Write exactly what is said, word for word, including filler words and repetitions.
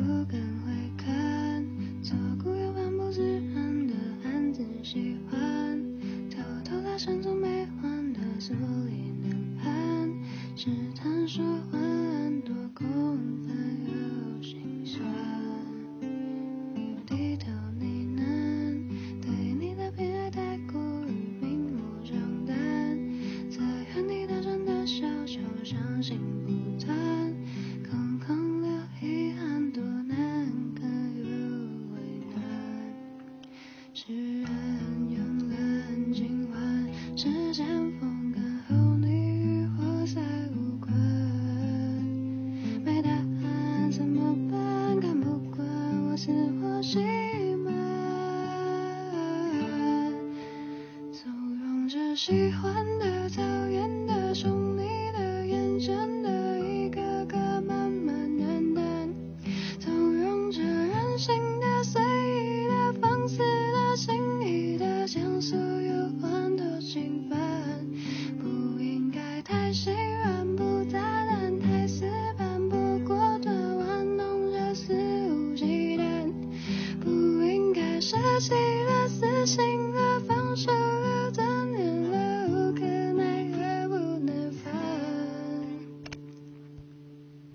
敢回看，左顾右盼不自然的暗自喜欢，偷偷搭讪总没还的坐立难安，试探说晚多空泛又心酸，低头呢喃，对你的偏爱太过于明目张胆，在原地打转的小球伤心不断，空空留遗憾多难堪又为难，是人慵懒今晚是前锋看后你与我再无关，没答案怎么办，看不惯我死活心闷，纵容着喜欢